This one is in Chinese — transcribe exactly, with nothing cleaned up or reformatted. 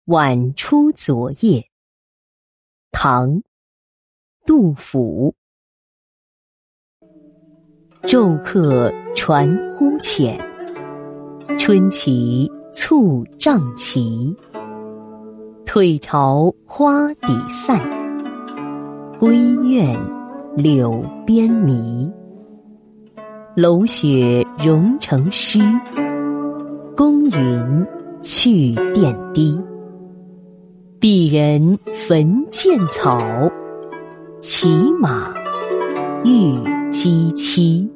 晚出昨夜，唐·杜甫。骤客传呼浅，春起促帐旗。退潮花底散，归院柳边迷。楼雪融成诗，宫云去殿低。鄙人焚剑草，骑马御鸡栖。